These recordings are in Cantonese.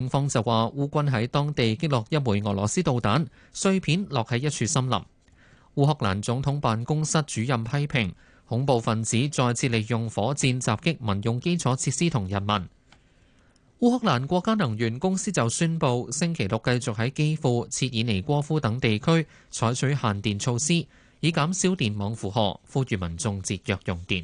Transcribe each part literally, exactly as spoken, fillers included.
方就話烏軍喺當地擊落一枚俄羅斯導彈，碎片落喺一處森林。烏克蘭總統辦公室主任批評恐怖分子再次利用火箭襲擊民用基礎設施同人民。烏克蘭國家能源公司就宣布，星期六繼續喺基輔、切爾尼戈夫等地區採取限電措施，以減少電網負荷，呼籲民眾節約用電。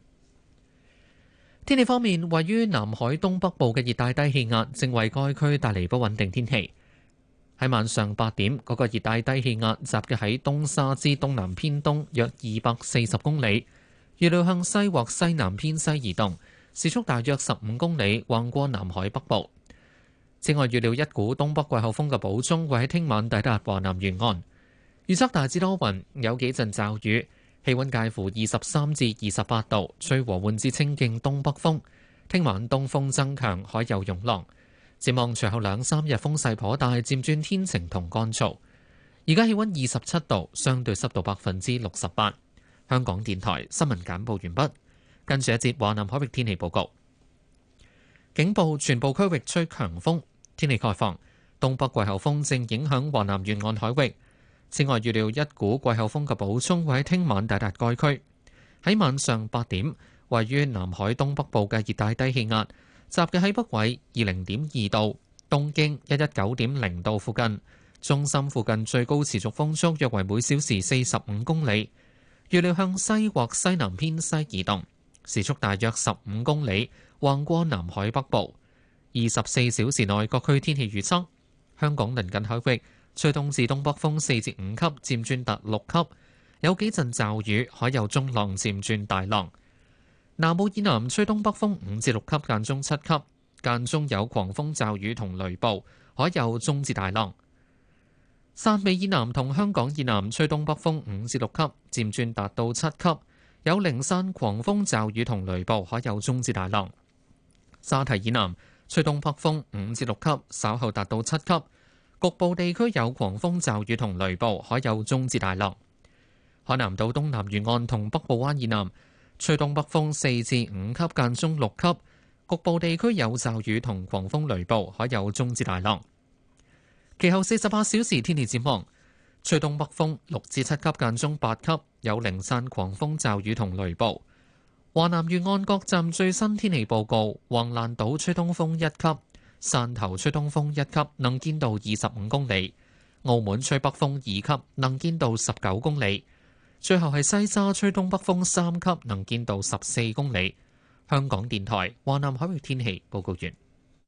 天氣方面，位於南海東北部嘅熱帶低氣壓正為該區帶嚟不穩定天氣。喺晚上八點，嗰個熱帶低氣壓集結喺東沙之東南偏東約二百四十公里，預料向西或西南偏西移動，時速大約十五公里，橫過南海北部。此外，預料一股東北季候風嘅補充會喺聽晚抵達華南沿岸。預測大致多雲，有幾陣驟雨，氣溫介乎二十三至二十八度，吹和緩至清勁東北風。聽晚東風增強，海有湧浪。展望隨後兩三日風勢頗大，漸轉天晴同乾燥。而家氣溫二十七度，相對濕度百分之六十八。香港電台新聞簡報完畢。跟住一節華南海域天氣報告。警報，全部區域吹強風。天氣概況，東北季候風正影響華南沿岸海域。此外，預料一股季候風嘅補充會喺聽晚抵達該區。喺晚上八點，位於南海東北部嘅熱帶低氣壓集結喺北緯二零點二度、東經一一九點零度附近，中心附近最高持續風速約為每小時四十五公里，預料向西或西南偏西移動，時速大約十五公里，橫過南海北部。二十四小時內各區天氣預測：香港鄰近海域吹東至東北風四至五級，漸轉達六級，有幾陣驟雨，海有中浪漸轉大浪。南澳以南吹東北風五至六級，間中七級，間中有狂風驟雨同雷暴，海有中至大浪。汕尾以南同香港以南吹東北風五至六級，漸轉達到七級，有零散狂風驟雨同雷暴，海有中至大浪。沙堤以南吹東北風五至六級，稍後達到七級，局部地區有狂風驟雨同雷暴，海有中至大浪。海南島東南沿岸同北部灣以南吹東北風四至五級，間中六級，局部地區有驟雨同狂風雷暴，海有中至大浪。其後四十八小時天氣展望，吹東北風六至七級，間中八級，有零散狂風驟雨同雷暴。華南沿岸各站最新天氣報告：橫瀾島吹東風一級，汕頭吹東風一級，能見度二十五公里；澳門吹北風二級，能見度十九公里。最後係西沙吹東北風三級，能見度十四公里。香港電台華南海域天氣報告完。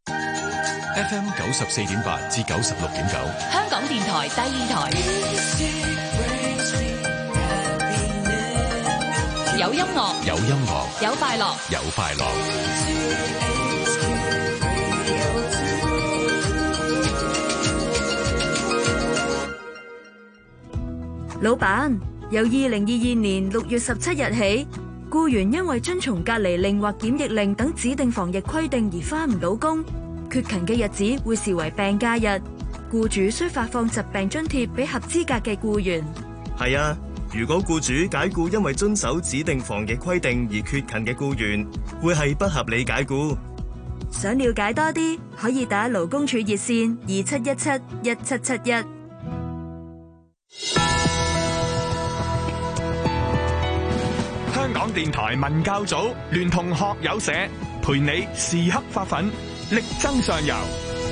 F M 九十四點八至九十六點九， 香港電台第二台，有音樂， 有音樂， 有快樂， 有快樂。 老闆，由二零二二年六月十七日起，僱員因為遵從隔離令或檢疫令等指定防疫規定而返唔到工，缺勤嘅日子會視為病假日，僱主需發放疾病津貼俾合資格嘅僱員。 係啊，如果僱主解僱因為遵守指定防疫規定而缺勤嘅僱員，會係不合理解僱。 想了解多啲，可以打勞工處熱線二七一七一七七一。 香港電台文教組聯同學友社，陪你時刻發奮，力爭上游。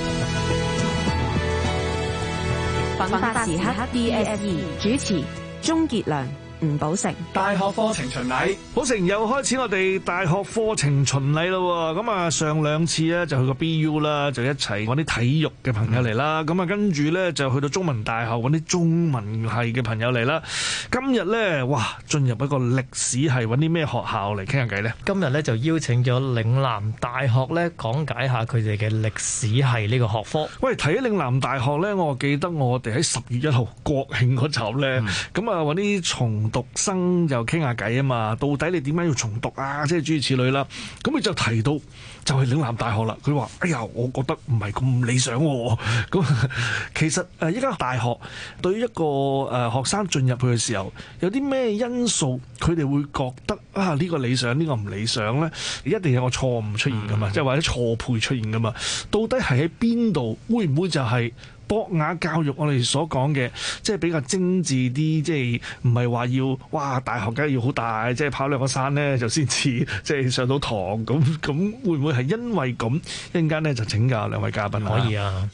奮發時刻 D S E 主持鍾傑良、吳寶成。 大學課程巡禮， 寶成又開始我哋大學課程巡禮咯。咁啊，上兩次咧就去個 B U 啦，就一齊揾啲體育嘅朋友嚟啦。咁啊，跟住咧就去到中文大學揾啲中文系嘅朋友嚟啦。今日咧，哇，進入一個歷史系，揾啲咩學校嚟傾下偈咧？ 今日咧就邀請咗嶺南大學咧講解下佢哋嘅歷史系呢個學科。 喂，提起嶺南大學咧，我記得我哋喺十月一號國慶嗰集咧，咁啊揾啲從重讀生就傾下偈啊嘛，到底你點解要重讀啊？即係諸如此類啦。咁佢就提到就係嶺南大學啦。佢話：哎呀，我覺得唔係咁理想喎。咁其實誒依間大學對於一個誒學生進入去嘅時候，有啲咩因素佢哋會覺得啊呢個理想，呢個唔理想咧？一定有個錯誤出現噶嘛，即係或者錯配出現噶嘛。到底係喺邊度？會唔會就係博雅教育我哋所講嘅，即係比較精緻啲，即係唔係話要哇大學梗係要好大，即係跑兩個山咧就先至即係上到堂咁咁，會唔會係因為咁？一陣間咧就請教兩位嘉賓啊。 可以啊。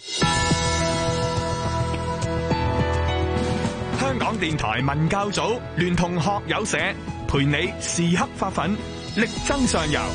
香港電台文教組聯同學友社，陪你時刻發奮，力爭上游。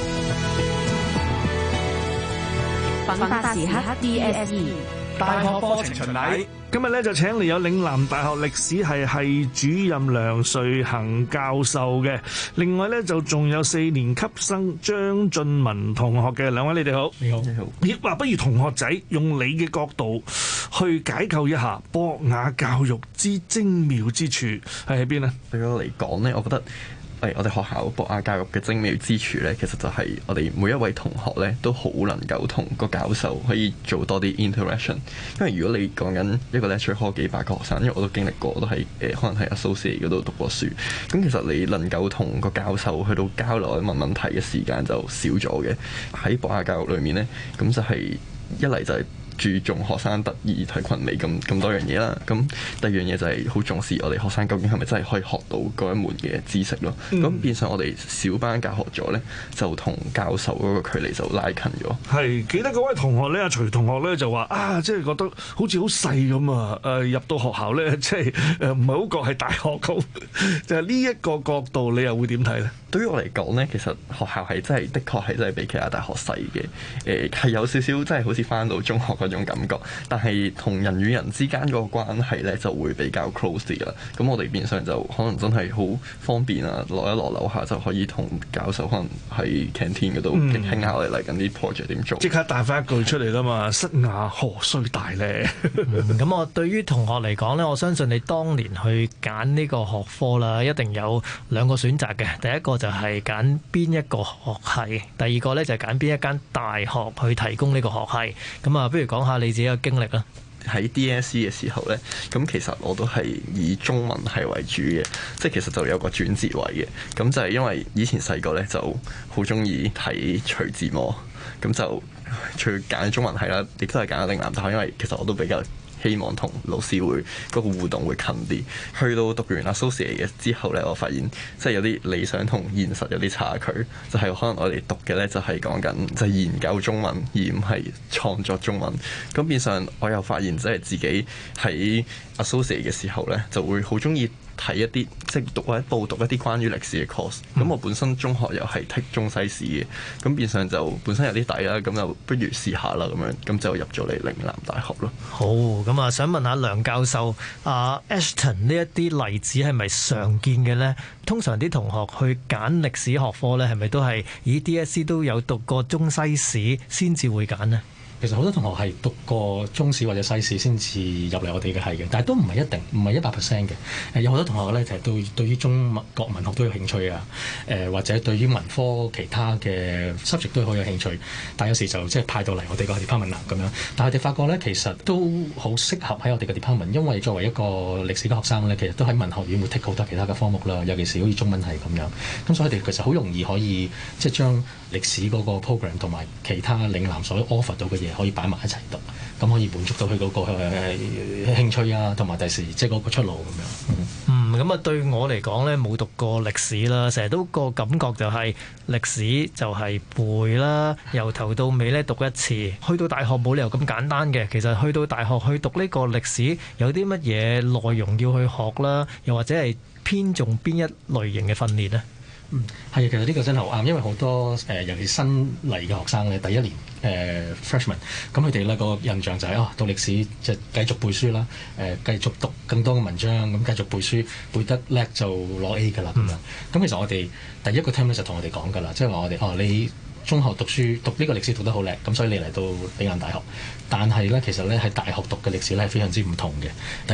奮發時刻 D S E 大學課程巡禮， 今日咧就請嚟有嶺南大學歷史系系主任梁瑞恒教授嘅，另外咧就仲有四年級生張俊文同學嘅。兩位你哋好。 你好，你好。 咦，話不如同學仔用你嘅角度去解構一下博雅教育之精妙之處係喺邊呢？ 對我嚟講呢，我覺得誒，我哋學校博雅教育嘅精妙之處呢，其實就係我哋每一位同學呢都好能夠同個教授可以做多啲 interaction。因為如果你講緊一個 lecture hall 幾百個學生，因為我都經歷過，我都喺誒可能喺 associate 嗰度讀過書。咁其實你能夠同個教授去到交流問問題嘅時間就少咗嘅。喺博雅教育裏面呢，咁就係一嚟就係注重學生特異體群美咁咁多樣嘢啦，咁第二樣嘢就係好重視我哋學生究竟係咪真係可以學到嗰一門嘅知識咯。咁、嗯、變相我哋小班教學咗咧，就同教授嗰個距離就拉近咗。係記得嗰位同學咧，阿徐同學咧就話啊，即係覺得好似好細咁啊！誒入到學校咧，即係誒唔係好覺係大學咁。就係呢一個角度，你又會點睇咧？ 對於我嚟講咧，其實學校係真係的確係真係比其他大學細嘅。誒係有少少真係好似返到中學嗰種感覺，但係同人與人之間嗰個關係咧就會比較 close 啲啦。咁我哋變相就可能真係好方便啊，落一落樓下就可以同教授可能喺 canteen 嗰度傾下我哋嚟緊啲 project 點做。即刻彈翻一句出嚟啦嘛，室雅何須大咧？ 咁、嗯、我對於同學嚟講咧，我相信你當年去揀呢個學科啦，一定有兩個選擇嘅。第一個就係揀邊一個學系，第二個咧就係揀邊一間大學去提供呢個學系。咁啊，不如講下你自己嘅經歷啦。 喺 D S E 嘅時候呢，咁其實我都係以中文系為主嘅，即係其實就有個轉折位嘅。咁就係因為以前細個呢就好中意睇徐志摩，咁就除揀中文系啦，亦都係揀咗嶺南大學，因為其實我都比較希望同老師會嗰個互動會近啲。去到讀完 associate 嘅之後呢，我發現即係有啲理想同現實有啲差距，就係、是、可能我哋讀嘅呢，就係講緊就係研究中文，而唔係創作中文。咁變相我又發現即係自己喺 associate 嘅時候呢，就會好中意睇一啲即係讀或者報讀一啲關於歷史嘅 course。咁、嗯、我本身中學又係剔中西史嘅，咁變相就本身有啲底啦，咁就不如試下啦咁樣，咁就入咗嚟嶺南大學咯。 好，咁啊想問下梁教授，啊 Ashton 呢一啲例子係咪常見嘅呢？通常啲同學去揀歷史學科呢，係咪都係以 D S E 都有讀過中西史先至會揀呢？ 其實好多同學係讀過中史或者西史先至入嚟我哋嘅系嘅，但係都唔係一定，唔係一百 percent 嘅。誒有好多同學咧，就係對對於中文國文學都有興趣啊，誒、呃、或者對於文科其他嘅 subject 都好有興趣，但係有時就即係派到嚟我哋個 department 咁樣。但係我哋發覺咧，其實都好適合喺我哋嘅 department，因為作為一個歷史嘅學生咧，其實都喺文學院會 take 好多其他嘅科目啦，尤其是好似中文系咁樣。咁所以我哋其實好容易可以即係將歷史嗰個 program 同埋其他嶺南所 offer 到嘅嘢可以擺埋一齊讀，咁可以滿足到佢嗰個誒興趣啊，同埋第時即係嗰個出路咁樣。 嗯，咁啊對我嚟講咧，冇讀過歷史啦，成日都個感覺就係歷史就係背啦，由頭到尾咧讀一次。去到大學冇理由咁簡單嘅，其實去到大學去讀呢個歷史有啲乜嘢內容要去學啦，又或者係偏重邊一類型嘅訓練呢？ 嗯，係啊，其實呢個真係好啱，因為好多誒、呃，尤其新嚟嘅學生咧，第一年誒、呃、freshman，咁佢哋咧個印象就係、是、哦，讀歷史就繼續背書啦，誒、呃、繼續讀更多嘅文章，咁繼續背書，背得叻就攞 A 㗎啦咁樣。咁、嗯、其實我哋第一個 term 咧就同我哋講㗎啦，即係話我哋哦，你中學讀書讀呢個歷史讀得好叻，咁所以你嚟到嶺南大學，但係咧其實咧喺大學讀嘅歷史咧係非常之唔同嘅。第一，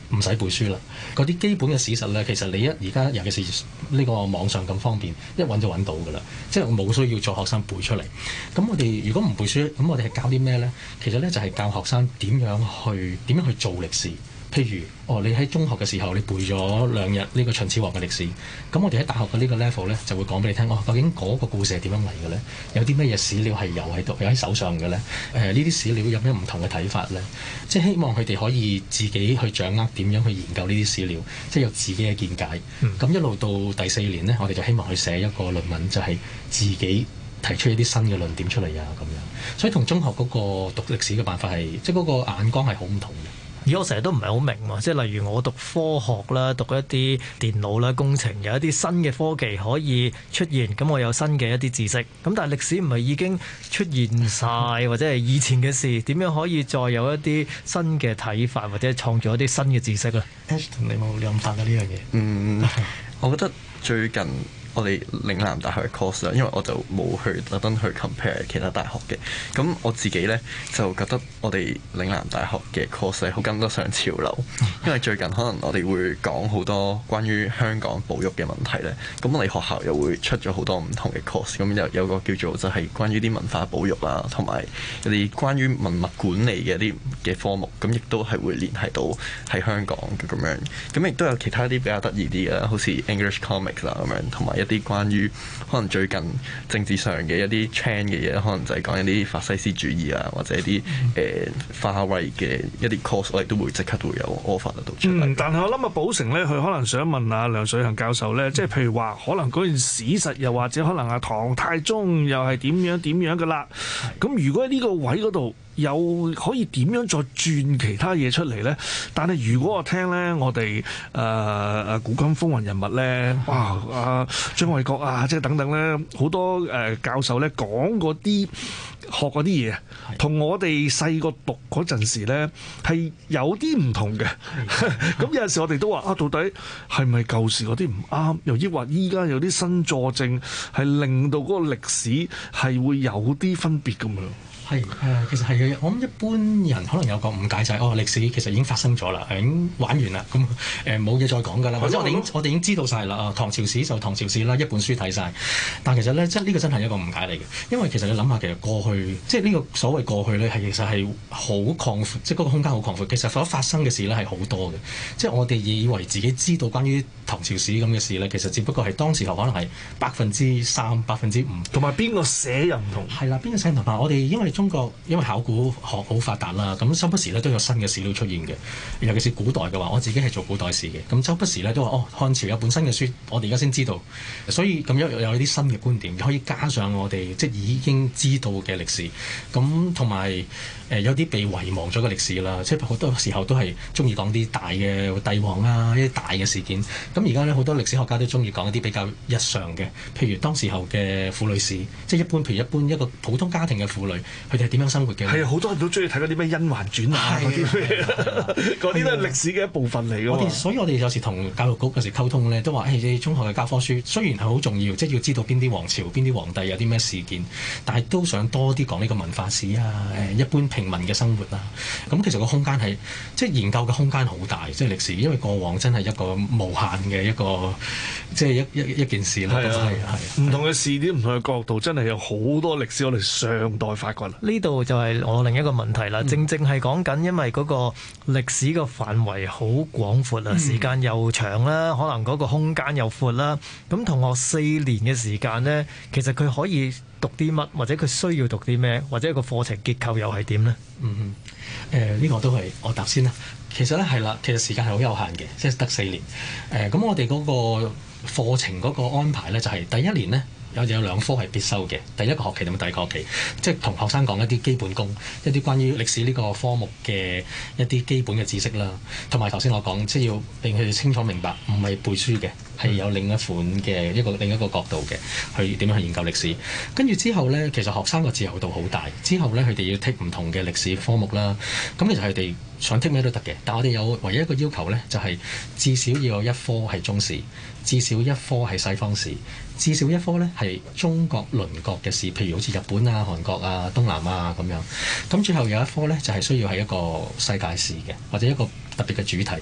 唔使背書啦。嗰啲基本嘅史實咧，其實你一而家尤其是呢個網上咁方便，一揾就揾到㗎啦。即係我冇需要做學生背出嚟。咁我哋如果唔背書，咁我哋係教啲咩咧？其實咧就係教學生點樣去點樣去做歷史。譬如，哦，你喺中學嘅時候，你背咗兩日呢個秦始皇嘅歷史，咁我哋喺大學嘅呢個 level 咧，就會講俾你聽，哦，究竟嗰個故事係點樣嚟嘅咧？有啲咩嘢史料係有喺度，有喺手上嘅咧？誒，呢啲史料有咩唔同嘅睇法咧？即係希望佢哋可以自己去掌握點樣去研究呢啲史料，即係有自己嘅見解。咁、嗯、一路到第四年咧，我哋就希望去寫一個論文，就係自己提出一啲新嘅論點出嚟啊，咁樣。所以同中學嗰個讀歷史嘅辦法係，即係嗰個眼光係好唔同嘅。 而我成日都唔係好明喎，即係例如我讀科學啦，讀一啲電腦啦、工程，有一啲新嘅科技可以出現，咁我有新嘅一啲知識。咁但係歷史唔係已經出現晒，或者係以前嘅事，點樣可以再有一啲新嘅睇法，或者創造一啲新嘅知識咧 Ashton 你冇諗法啊呢樣嘢？ 嗯，我覺得最近我哋嶺南大學嘅 course 啦，因為我就冇去特登去 compare 其他大學嘅。咁我自己咧就覺得我哋嶺南大學嘅 course 係好跟得上潮流，因為最近可能我哋會講好多關於香港保育嘅問題咧。咁我哋學校又會出咗好多唔同嘅 course，咁有有個叫做就係關於啲文化保育啦，同埋一啲關於文物管理嘅一啲嘅科目，咁亦都係會聯繫到喺香港嘅咁樣。咁亦都有其他啲比較得意啲嘅，好似 English comics 啦咁樣，同埋一啲關於可能最近政治上嘅一啲 trend 嘅嘢，可能就係講一啲法西斯主義啊，或者一啲誒花卉嘅一啲 course，我哋都會即刻都會有 offer 得到出嚟。 嗯，但係我諗啊，寶成咧，佢可能想問阿梁水恒教授咧，即係譬如話，可能嗰件史實又或者可能阿唐太宗又係點樣點樣噶啦。咁如果喺呢個位嗰度，有可以點樣再轉其他嘢出嚟咧？但係如果我聽咧，我哋誒誒古今風雲人物咧，哇啊張衛國啊，即係等等咧，好多誒、呃、教授咧講嗰啲學嗰啲嘢，同我哋細個讀嗰陣時咧係有啲唔同嘅。咁有陣時我哋都話啊，到底係咪舊時嗰啲唔啱？又抑或依家有啲新佐證係令到嗰個歷史係會有啲分別咁樣？ 係誒、呃，其實係嘅。我諗一般人可能有個誤解就係、是、哦，歷史其實已經發生咗啦，已經玩完啦，咁誒冇嘢再講㗎啦。或者我哋已經我哋已經知道晒啦。啊，唐朝史就唐朝史啦，一本書睇晒。但其實咧，即係呢個真係一個誤解嚟嘅，因為其實你諗下，其實過去即係呢個所謂過去咧，係其實係好擴闊，即係嗰個空間好擴闊。其實所發生嘅事咧係好多嘅，即係我哋以為自己知道關於唐朝史咁嘅事咧，其實只不過係當時候可能係百分之三、百分之五， 同埋邊個寫又唔同。 係啦，邊個寫唔同啊？我哋因為中國因為考古學好發達啦，咁周不時咧都有新嘅史料出現嘅。尤其是古代嘅話，我自己係做古代史嘅，咁周不時咧都話哦，漢朝有本新嘅書，我哋而家先知道，所以咁樣有有啲新嘅觀點，可以加上我哋即係已經知道嘅歷史，咁同埋誒有啲被遺忘咗嘅歷史啦，即係好多時候都係中意講啲大嘅帝王啊，一啲大嘅事件。咁而家咧好多歷史學家都中意講一啲比較日常嘅，譬如當時候嘅婦女史，即係一般譬如一般一個普通家庭嘅婦女，佢哋係點樣生活嘅？ 係啊，好多人都中意睇嗰啲咩甄嬛傳啊，嗰啲咩，嗰啲都係歷史嘅一部分嚟㗎。 我哋所以我哋有時同教育局有時溝通咧，都話誒，你中學嘅教科書雖然係好重要，即係要知道邊啲王朝、邊啲皇帝有啲咩事件，但係都想多啲講呢個文化史啊，誒一般平民嘅生活啊。咁其實個空間係即係研究嘅空間好大，即係歷史，因為過往真係一個無限嘅一個即係一一一件事啦。係啊，係唔同嘅視點、唔同嘅角度，真係有好多歷史我哋上代發掘。 呢度就係我另一個問題啦，嗯、正正係講緊，因為嗰個歷史嘅範圍好廣闊啊，嗯、時間又長啦，可能嗰個空間又闊啦。咁同學四年嘅時間呢，其實佢可以讀啲乜，或者佢需要讀啲咩，或者個課程結構又係點呢？ 嗯嗯，誒、呃、呢、這個都係我答先啦。其實咧係啦，其實時間係好有限嘅，即係得四年。誒、呃、咁我哋嗰個課程嗰個安排咧，就係、是、第一年呢。有有兩科係必修嘅，第一個學期同埋第二個學期，即係同學生講一啲基本功，一啲關於歷史呢個科目嘅一啲基本嘅知識啦，同埋頭先我講，即係要令佢哋清楚明白，唔係背書嘅，係有另一款嘅一個另一個角度嘅，去點樣去研究歷史。跟住之後呢，其實學生個自由度好大，之後呢，佢哋要剔唔同嘅歷史科目啦。咁其實佢哋想剔咩都得嘅，但我哋有唯一一個要求呢，就係、是、至少要有一科係中史，至少一科係西方史。至少一科咧係中國鄰國嘅事，譬如好似日本啊、韓國啊、東南亞咁樣。咁最後有一科咧就係、是、需要係一個世界史嘅，或者一個特別嘅主題。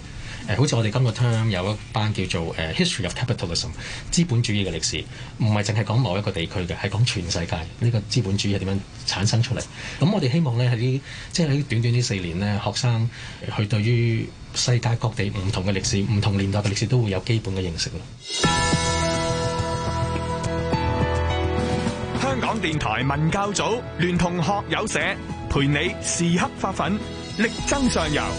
呃、好似我哋今個 term 有一班叫做誒、呃、History of Capitalism 資本主義嘅歷史，唔係淨係講某一個地區嘅，係講全世界呢、這個資本主義係點樣產生出嚟。咁我哋希望咧喺呢即係喺短短呢四年呢，學生去對於世界各地唔同嘅歷史、唔同年代嘅歷史都會有基本嘅認識咯。 香港電台文教組聯同學友社，陪你時刻發奮，力爭上游。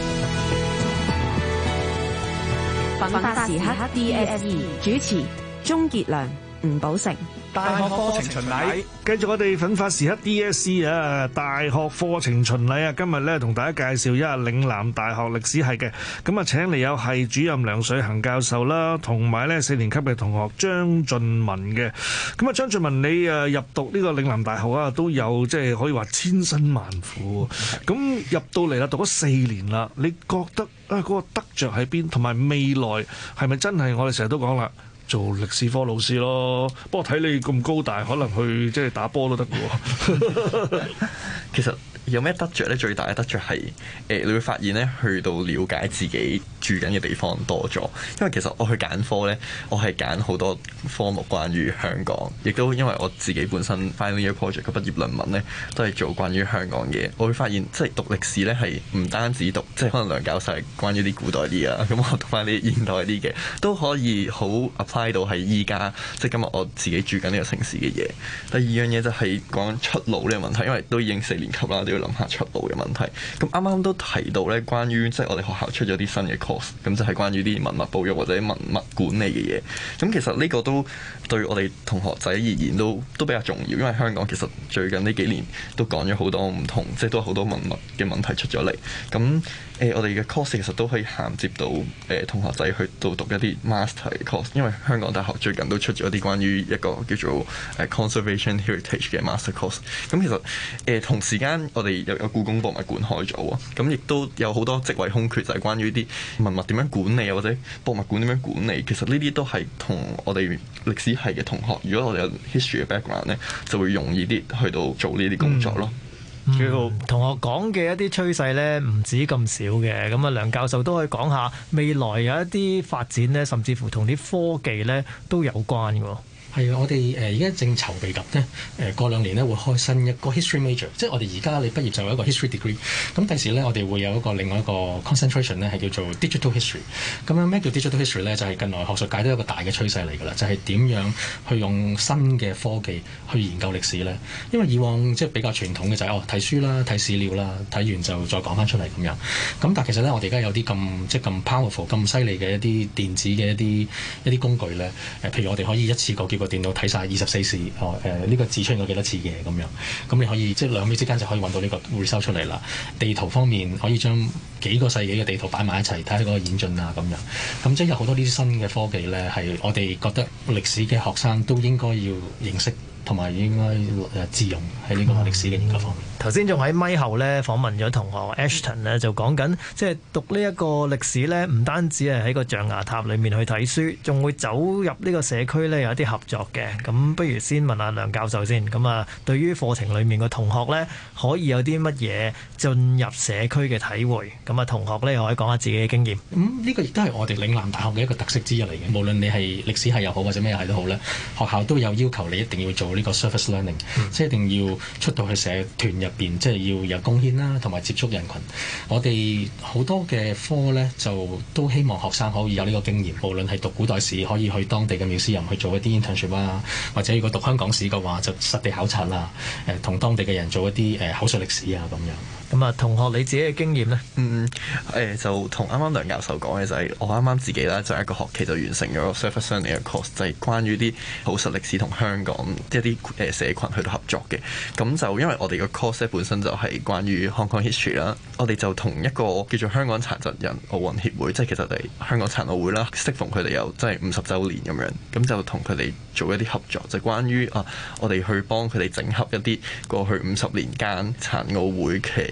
奮發時刻 D S E 主持鍾傑良、吳寶成。 大學課程巡禮， 繼續我哋奮發時刻 D S E 啊！大學課程巡禮啊！今日咧同大家介紹一下嶺南大學歷史系嘅，咁啊請嚟有系主任梁水恒教授啦，同埋咧四年級嘅同學張俊文嘅。咁啊張俊文，你誒入讀呢個嶺南大學啊，都有即係可以話千辛萬苦。咁入到嚟啦，讀咗四年啦，你覺得啊嗰個得着喺邊？同埋未來係咪真係我哋成日都講啦？做歷史科老師咯，不過睇你咁高大，可能去即係打波都得嘅喎。 其實有咩得着咧？最大嘅得着係誒，你會發現咧，去到了解自己住緊嘅地方多咗。因為其實我去揀科咧，我係揀好多科目關於香港，亦都因為我自己本身 final year project 嘅畢業論文咧，都係做關於香港嘅。我會發現即係讀歷史咧，係唔單止讀即係可能梁教授係關於啲古代啲啊，咁我讀翻啲現代啲嘅，都可以好 apply 到喺依家即係今日我自己住緊呢個城市嘅嘢。第二樣嘢就係講出路呢個問題，因為都已經四年級啦，都要諗下出路嘅問題。咁啱啱都提到咧，關於即係我哋學校出咗啲新嘅 course，咁就係關於啲文物保育或者文物管理嘅嘢。咁其實呢個都對我哋同學仔而言都都比較重要，因為香港其實最近呢幾年都講咗好多唔同，即係都好多文物嘅問題出咗嚟。咁誒、呃，我哋嘅 course 其實都可以銜接到誒、呃、同學仔去到讀一啲 master 嘅 course，因為香港大學最近都出咗一啲關於一個叫做誒 conservation heritage 嘅 master course。咁其實誒、呃、同時間我哋又有故宮博物館開咗啊，咁亦都有好多職位空缺，就係、是、關於啲文物點樣管理啊，或者博物館點樣管理。其實呢啲都係同我哋歷史系嘅同學，如果我哋有 history 嘅 background 咧，就會容易啲去到做呢啲工作咯。 嗯嗯、同學講嘅一啲趨勢咧，唔止咁少嘅。咁啊，梁教授都可以講下未來有一啲發展咧，甚至乎同啲科技咧都有關嘅。 係啊，我哋誒而家正籌備緊呢，誒過兩年呢會開新一個 history major，即係我哋而家你畢業就有一個 history degree。咁第時呢，我哋會有一個另外一個 concentration 呢係叫做 digital history。咁樣咩叫 digital history 呢？就係近來學術界都有一個大嘅趨勢嚟㗎啦，就係點樣去用新嘅科技去研究歷史呢？因為以往即係比較傳統嘅就係哦睇書啦、睇史料啦，睇完就再講翻出嚟咁樣。咁但係其實呢，我哋而家有啲咁即係咁 powerful、咁犀利嘅一啲電子嘅一啲一啲工具呢。誒，譬如我哋可以一次過叫個電腦睇晒二十四時，哦誒呢、呃這個字出現過幾多次嘅咁樣，咁你可以即係兩秒之間就可以揾到呢個 result 出嚟啦。地圖方面可以將幾個世紀嘅地圖擺埋一齊，睇下嗰個演進啊咁樣。咁即係有好多呢啲新嘅科技呢，係我哋覺得歷史嘅學生都應該要認識，同埋應該誒自用喺呢個歷史嘅研究方面。 頭先仲喺咪後咧訪問咗同學 Ashton 咧，就講緊即係讀呢一個歷史咧，唔單止係喺個象牙塔裏面去睇書，仲會走入呢個社區咧有一啲合作嘅。咁不如先問下梁教授先。咁啊，對於課程裏面嘅同學咧，可以有啲乜嘢進入社區嘅體會？咁啊，同學咧又可以講下自己嘅經驗。 咁呢、嗯、個亦都係我哋嶺南大學嘅一個特色之一嚟嘅。無論你係歷史系又好，或者咩系都好咧，學校都有要求你一定要做呢個 service learning，、嗯、即係一定要出到去社團入邊，即係要有貢獻啦，同埋接觸人群。我哋好多嘅科呢，就都希望學生可以有呢個經驗。無論係讀古代史，可以去當地嘅museum去做一啲 internship 啊，或者如果讀香港史嘅話，就實地考察啦。誒、呃，同當地嘅人做一啲誒、呃、口述歷史啊咁樣。 咁啊，同學你自己嘅經驗呢？ 嗯，誒、呃、就同啱啱梁教授講嘅就係、是，我啱啱自己啦，就一個學期就完成咗個 service learning 嘅 course，就係關於啲口述歷史同香港一啲誒社群去到合作嘅。咁就因為我哋個 course 本身就係關於 Hong Kong history 啦，我哋就同一個叫做香港殘疾人奧運協會，即係其實係香港殘奧會啦，適逢佢哋有即係五十週年咁樣，咁就同佢哋做一啲合作，就係、關於啊，我哋去幫佢哋整合一啲過去五十年間殘奧會嘅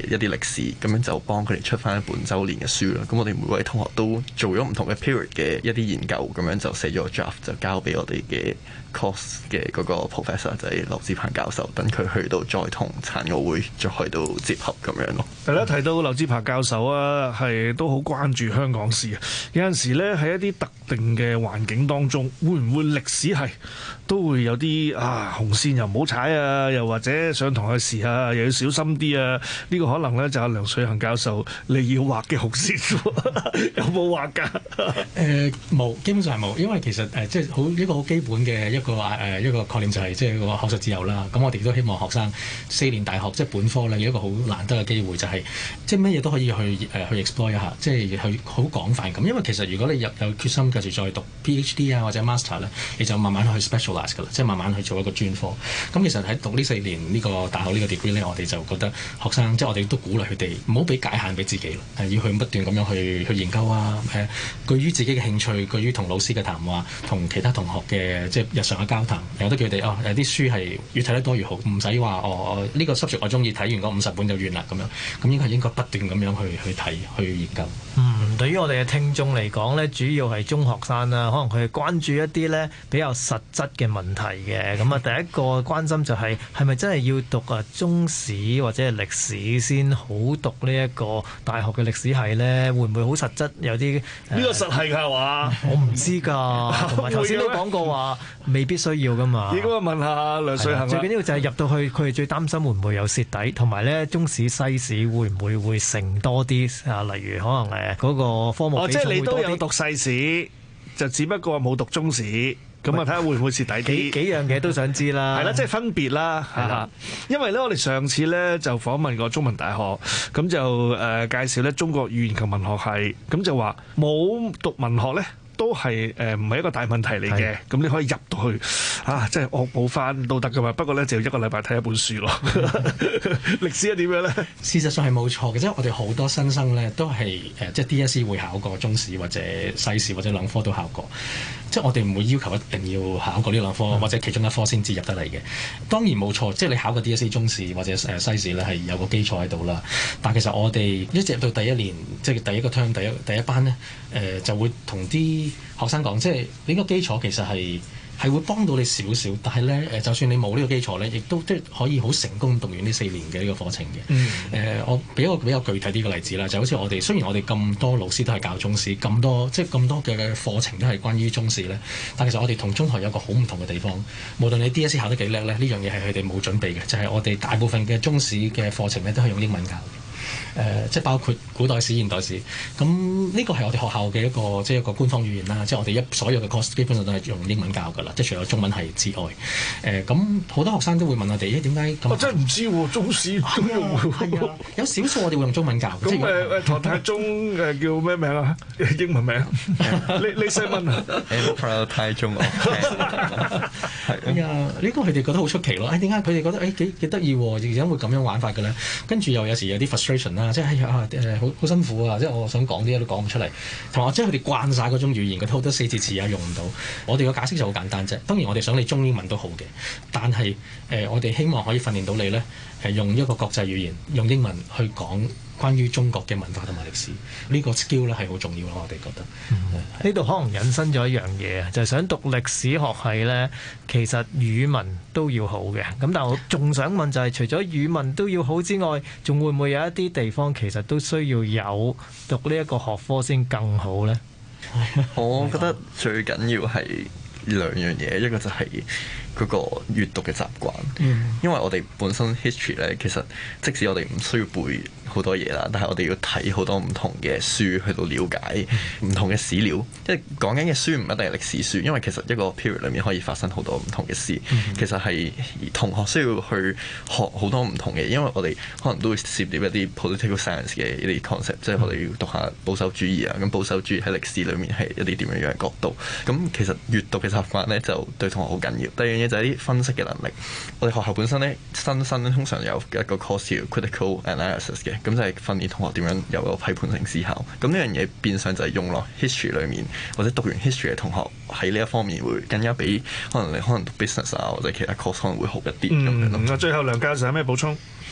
一啲歷史，咁樣就幫佢哋出翻一本週年嘅書啦。咁我哋每位同學都做咗唔同嘅 period 嘅一啲研究，咁樣就寫咗個 draft 就交俾我哋嘅 course 嘅嗰個 professor 就係劉志鵬教授，等佢去到再同殘奧會再去到結合咁樣咯。 大家提到劉志鵬教授啊，係都好關注香港史啊。有陣時咧喺一啲特定嘅環境當中，會唔會歷史係都會有啲啊紅線又唔好踩啊，又或者上堂嘅時啊又要小心啲啊？呢、這個可能咧就係梁萃恆教授你要畫嘅紅線，有冇畫㗎？ 誒冇、呃，基本上係冇，因為其實誒、呃、即係好一個好基本嘅一個誒、呃、一個概念就係、是、即係個學術自由啦。咁我哋都希望學生四年大學即係本科咧有一個好難得嘅機會，就係、是、即係乜嘢都可以去誒、呃、去 explore 一下，即係去好廣泛咁。因為其實如果你入有決心繼續再讀 PhD 啊或者 master 咧，你就慢慢去 specialize 㗎啦，即係慢慢去做一個專科。咁其實喺讀呢四年呢個大學呢個 degree 咧，我哋就覺得學生即係我哋都鼓勵佢哋唔好俾界限俾自己咯，係要去不斷咁樣去去研究啊，誒，據於自己嘅興趣，據於同老師嘅談話，同其他同學嘅即係日常嘅交談，由得佢哋哦，有啲書係越睇得多越好，唔使話哦呢個 subject 我中意睇完嗰五十本就完啦咁樣，咁應該係應該不斷咁樣去去睇去研究。 嗯，對於我哋嘅聽眾嚟講咧，主要係中學生啦，可能佢係關注一啲咧比較實質嘅問題嘅。咁啊，第一個關心就係係咪真係要讀啊中史或者係歷史先好讀呢一個大學嘅歷史系咧？會唔會好實質有啲？ 呢個實係㗎話， 我唔知㗎。同埋頭先都講過話，未必需要㗎嘛。 應該問下梁萃恆。 最緊要就係入到去，佢哋最擔心會唔會有蝕底，同埋咧中史西史會唔會會成多啲啊？例如可能誒嗰個科目比重會多啲。哦，即係你都有讀世史，就只不過冇讀中史。咁啊，睇下會唔會蝕底啲？幾幾樣嘢都想知啦。係啦，即係分別啦。係啦，因為咧，我哋上次咧就訪問過中文大學，咁就誒介紹咧中國語言及文學系，咁就話冇讀文學咧。都係誒唔係一個大問題嚟嘅，咁你可以入到去啊，即係惡補翻都得噶嘛。不過咧就要一個禮拜睇一本書咯。歷史係點樣咧？ 事實上係冇錯嘅，即係我哋好多新生咧都係誒、呃，即係 D S E 會考過中史或者西史或者兩科都考過。即係我哋唔會要求一定要考過呢兩科、嗯、或者其中一科先至入得嚟嘅。當然冇錯，即係你考過 D S E 中史或者誒西史咧係有個基礎喺度啦。但其實我哋一直入到第一年，即係第一個 term 第一第一班咧，誒、呃、就會同啲學生講，即係呢個基礎其實係係會幫到你少少，但係咧誒，就算你冇呢個基礎咧，亦都即係可以好成功讀完呢四年嘅呢個課程嘅。誒、嗯呃，我俾一個比較具體啲嘅例子啦，就好似我哋雖然我哋咁多老師都係教中史，咁多即係咁多嘅課程都係關於中史咧，但其實我哋同中學有個好唔同嘅地方。無論你 D S E 考得幾叻咧，呢樣嘢係佢哋冇準備嘅，就係、是、我哋大部分嘅中史嘅課程咧都係用英文教嘅。誒、呃，即係包括古代史、現代史，咁呢個係我哋學校嘅一個即係一個官方語言啦。即係我哋一所有嘅 course 基本上都係用英文教㗎啦，即係除咗中文系之外。誒、呃，咁好多學生都會問我哋，誒點解咁？我真係唔知喎，中史咁用係啊，有少數我哋會用中文教。 咁誒誒，唐太宗誒叫咩名啊？英文名？你你細問啊 Emperor 太宗啊。 係啊，呢個佢哋覺得好出奇咯。誒點解佢哋覺得誒幾幾得意喎？而家會咁樣玩法嘅咧？跟住又有時有啲 frustration 啦。即係啊誒好好辛苦啊！即係我想講啲嘢都講唔出嚟，同埋即係佢哋慣晒嗰種語言，佢好多四字詞啊用唔到。我哋嘅解釋就好簡單啫。當然我哋想你中英文都好嘅，但係誒、呃、我哋希望可以訓練到你咧，係用一個國際語言，用英文去講關於中國嘅文化同埋歷史。呢、這個 skill 咧係好重要咯，我哋覺得。 呢度、嗯、可能引申咗一樣嘢啊，就係、是、想讀歷史學系咧，其實語文都要好嘅。咁但係我仲想問就係、是，除咗語文都要好之外，仲會唔會有一啲地方其實都需要有讀呢一個學科先更好咧？ 我覺得最緊要係兩樣嘢，一個就係嗰個閱讀嘅習慣，嗯、因為我哋本身 history 咧，其實即使我哋唔需要背好多嘢啦，但係我哋要睇好多唔同嘅書去到了解唔同嘅史料。即係講緊嘅書唔一定係歷史書，因為其實一個 period 裏面可以發生好多唔同嘅事。嗯、其實係同學需要去學好多唔同嘅，因為我哋可能都會涉獵一啲 political science 嘅一啲 concept，即係我哋要讀下保守主義啊。咁保守主義喺歷史裏面係一啲點樣樣嘅角度。咁其實閱讀嘅習慣咧就對同學好緊要。第二樣嘢就係啲分析嘅能力。我哋學校本身咧新生咧通常有一個 course 叫 critical analysis 嘅。咁就係訓練同學點樣有個批判性思考。咁呢樣嘢變相就係用落 history 裏面，或者讀完 history 嘅同學喺呢一方面會更加比可能你可能讀 business 啊或者其他 course 可能會好一啲咁樣咯。 最後梁教授有咩補充？ 誒、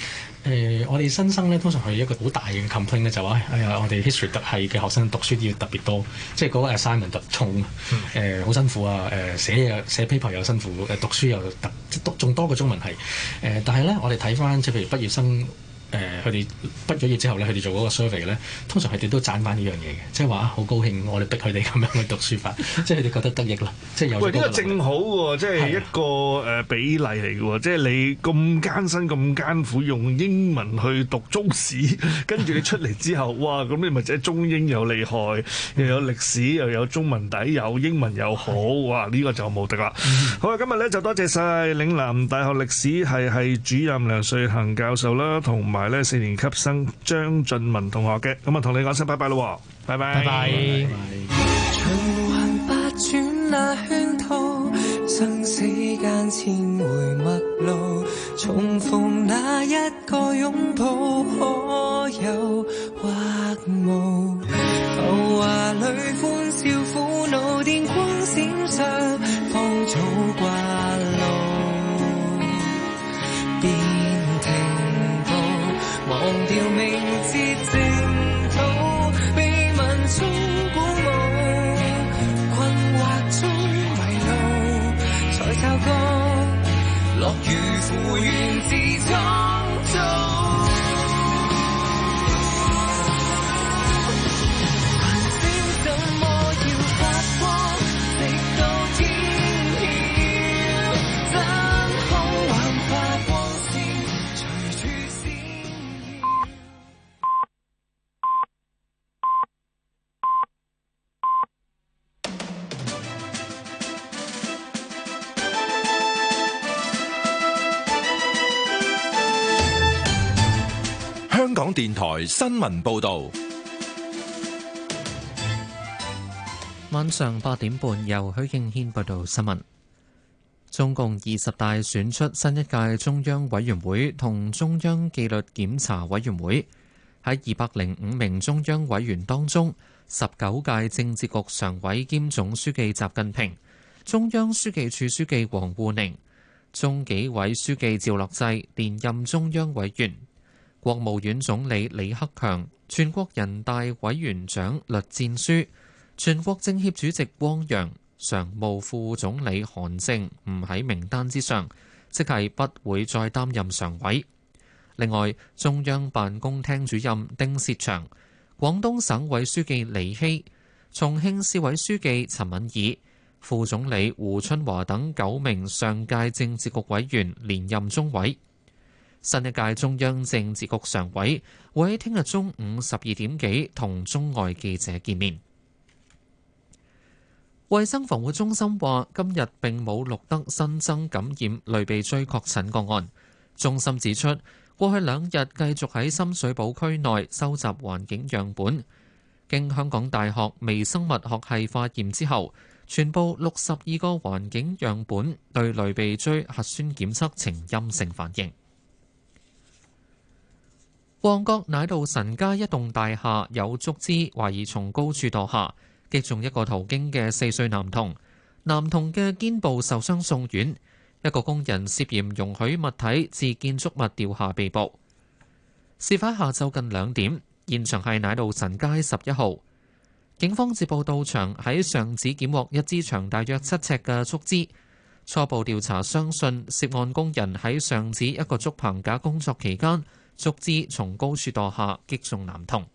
誒、呃，我哋新生咧，通常係一個好大嘅 complaint 咧，就話哎呀，我哋 history 特系嘅學生讀書要特別多，即係嗰個 assignment 特重，誒、呃、好辛苦啊，誒、呃、寫嘢寫 paper 又辛苦，誒讀書又特即讀仲多過中文系，誒、呃、但係咧，我哋睇翻即係譬如畢業生。誒佢哋畢咗業之後咧，佢哋做嗰個 survey 咧，通常佢哋都讚翻呢樣嘢嘅，即係話好高興我哋逼佢哋咁樣去讀書法，即係佢哋覺得得益啦，即係有。喂， 呢個正好喎，即係一個誒比例嚟嘅喎，即係你咁艱辛咁艱苦用英文去讀中史，跟住你出嚟之後，哇！咁你咪即係中英又厲害，又有歷史又有中文底，有英文又好，哇！呢個就無敵啦。好啊，今日咧就多謝晒嶺南大學歷史系系主任梁瑞恒教授啦，同埋咧四年級生張俊文同學嘅，咁啊同你講聲拜拜咯，拜拜。拜拜。 循環百轉那圈套，生死間千回陌路，重逢那一個擁抱，可有或無？浮華裏歡笑苦惱，電光閃爍，芳草掛路。忘掉名字淨土，被文中鼓舞，困惑中迷路，才察覺樂與苦源自創造。繁星怎麼要發光，直到天曉，真空幻化光線隨住閃。 香港電台新聞報導， 晚上八點半由許敬軒報道新聞。中共二十大選出新一屆中央委員會同中央紀律檢查委員會。喺二百零五名中央委員當中，十九屆政治局常委兼總書記習近平、中央書記處書記王滬寧、中紀委書記趙樂際連任中央委員。國務院總理李克強、全國人大委員長栗戰書、全國政協主席汪洋、常務副總理韓正唔喺名單之上，即係不會再擔任常委。另外，中央辦公廳主任丁薛祥、廣東省委書記李希、重慶市委書記陳敏爾、副總理胡春華等九名上屆政治局委員連任中委。新一屆中央政治局常委會喺聽日中午十二點幾同中外記者見面。衛生防護中心話，今日並冇錄得新增感染類鼻疽確診個案。中心指出，過去兩日繼續喺深水埗區內收集環境樣本，經香港大學微生物學系化驗之後，全部六十二個環境樣本對類鼻疽核酸檢測呈陰性反應。旺角奶路臣街一棟大廈有竹枝懷疑從高處墮下，擊中一個途經嘅四歲男童，男童嘅肩部受傷送院。一個工人涉嫌容許物體自建築物掉下被捕。事發下晝近兩點，現場係奶路臣街十一號。警方接報到場，喺上址檢獲一支長大約七尺嘅竹枝。初步調查相信涉案工人喺上址一個竹棚架工作期間，竹枝從高處墮下，擊中男童。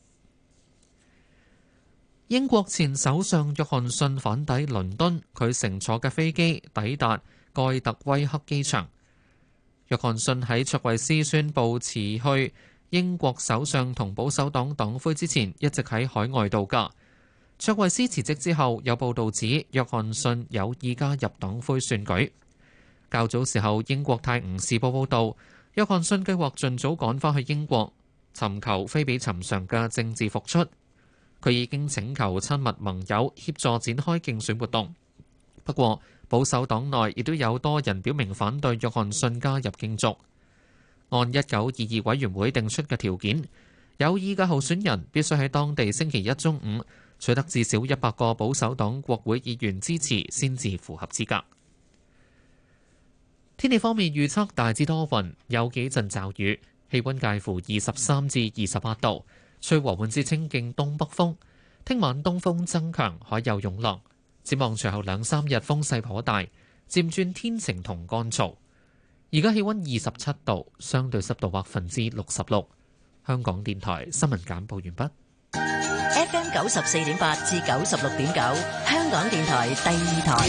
英國前首相約翰遜返抵倫敦，佢乘坐嘅飛機抵達蓋特威克機場。約翰遜喺卓慧思宣布辭去英國首相同保守黨黨魁之前，一直喺海外度假。卓慧思辭職之後，有報道指約翰遜有意加入黨魁選舉。較早時候，英國泰晤士報報道，約翰遜計劃盡早趕返去英國，尋求非比尋常嘅政治復出。佢已經請求親密盟友協助展開競選活動。不過，保守黨內亦都有多人表明反對約翰遜加入競逐。按一九二二委員會定出嘅條件，有意嘅候選人必須喺當地星期一中午取得至少一百個保守黨國會議員支持，先至符合資格。天氣方面預測大致多雲，有幾陣驟雨。 氣溫介乎二十三至二十八度，吹和緩至清勁東北風。聽晚東風增強，海有湧浪。展望隨後兩三日風勢頗大，漸轉天晴同乾燥。而家氣溫二十七度，相對濕度百分之六十六。香港電台新聞簡報完畢。 F M 九十四點八至九十六點九，香港電台第二台。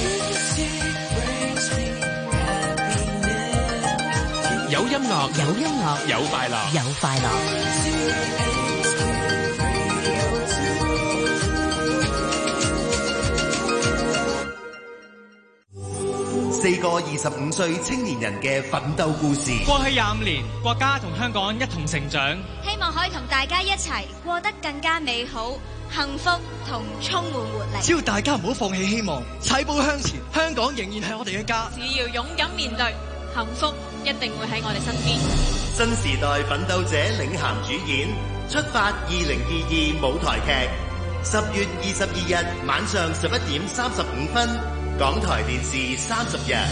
有音樂， 有音樂， 有快樂， 有快樂。 四個二十五歲青年人嘅奮鬥故事。 過去廿五年，國家同香港一同成長， 希望可以同大家一齊過得更加美好、幸福同充滿活力。 只要大家唔好放棄希望，踩步向前，香港仍然係我哋嘅家。 只要勇敢面對，幸福一定會喺我哋身邊。 新時代奮鬥者領銜主演，出發二零二二舞台劇，十月二十二日晚上十一點三十五分，港台電視三十日。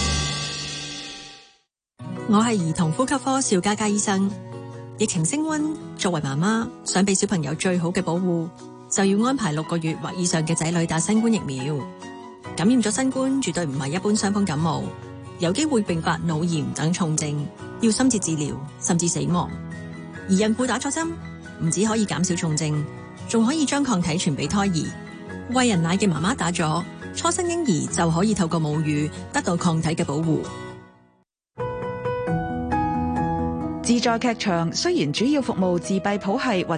我係兒童呼吸科邵嘉嘉醫生。疫情升溫，作為媽媽想俾小朋友最好嘅保護，就要安排六個月或以上嘅仔女打新冠疫苗。感染咗新冠絕對唔係一般傷風感冒，有機會併發腦炎等重症，要深切治療甚至死亡。而孕婦打咗針，唔止可以減少重症，仲可以將抗體傳俾胎兒。餵人奶嘅媽媽打咗，初生嬰兒就可以透過母乳得到抗體嘅保護。 自在劇場雖然主要服務自閉譜系或